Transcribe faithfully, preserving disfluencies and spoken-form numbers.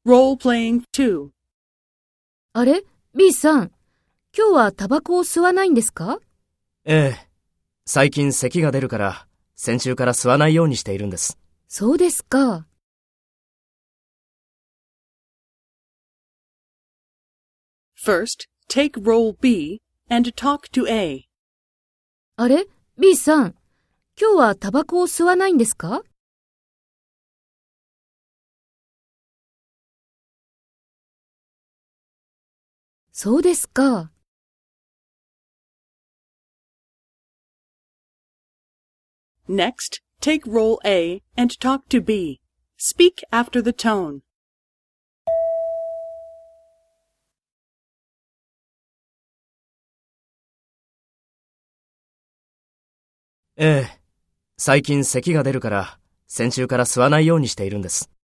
Role-playing two. あれ ?B さん、今日はタバコを吸わないんですか？ ええ。最近咳が出るから、先週から吸わないようにしているんです。 そうですか。 First, take role B and talk to A. あれ ?B さん、今日はタバコを吸わないんですか？そうですか。 Next, take role A and talk to B. Speak after the tone. ええ。最近咳が出るから、先週から吸わないようにしているんです。